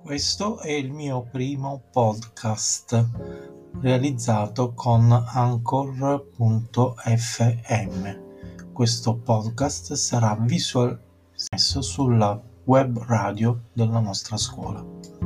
Questo è il mio primo podcast realizzato con Anchor.fm. Questo podcast sarà visualizzato sulla web radio della nostra scuola.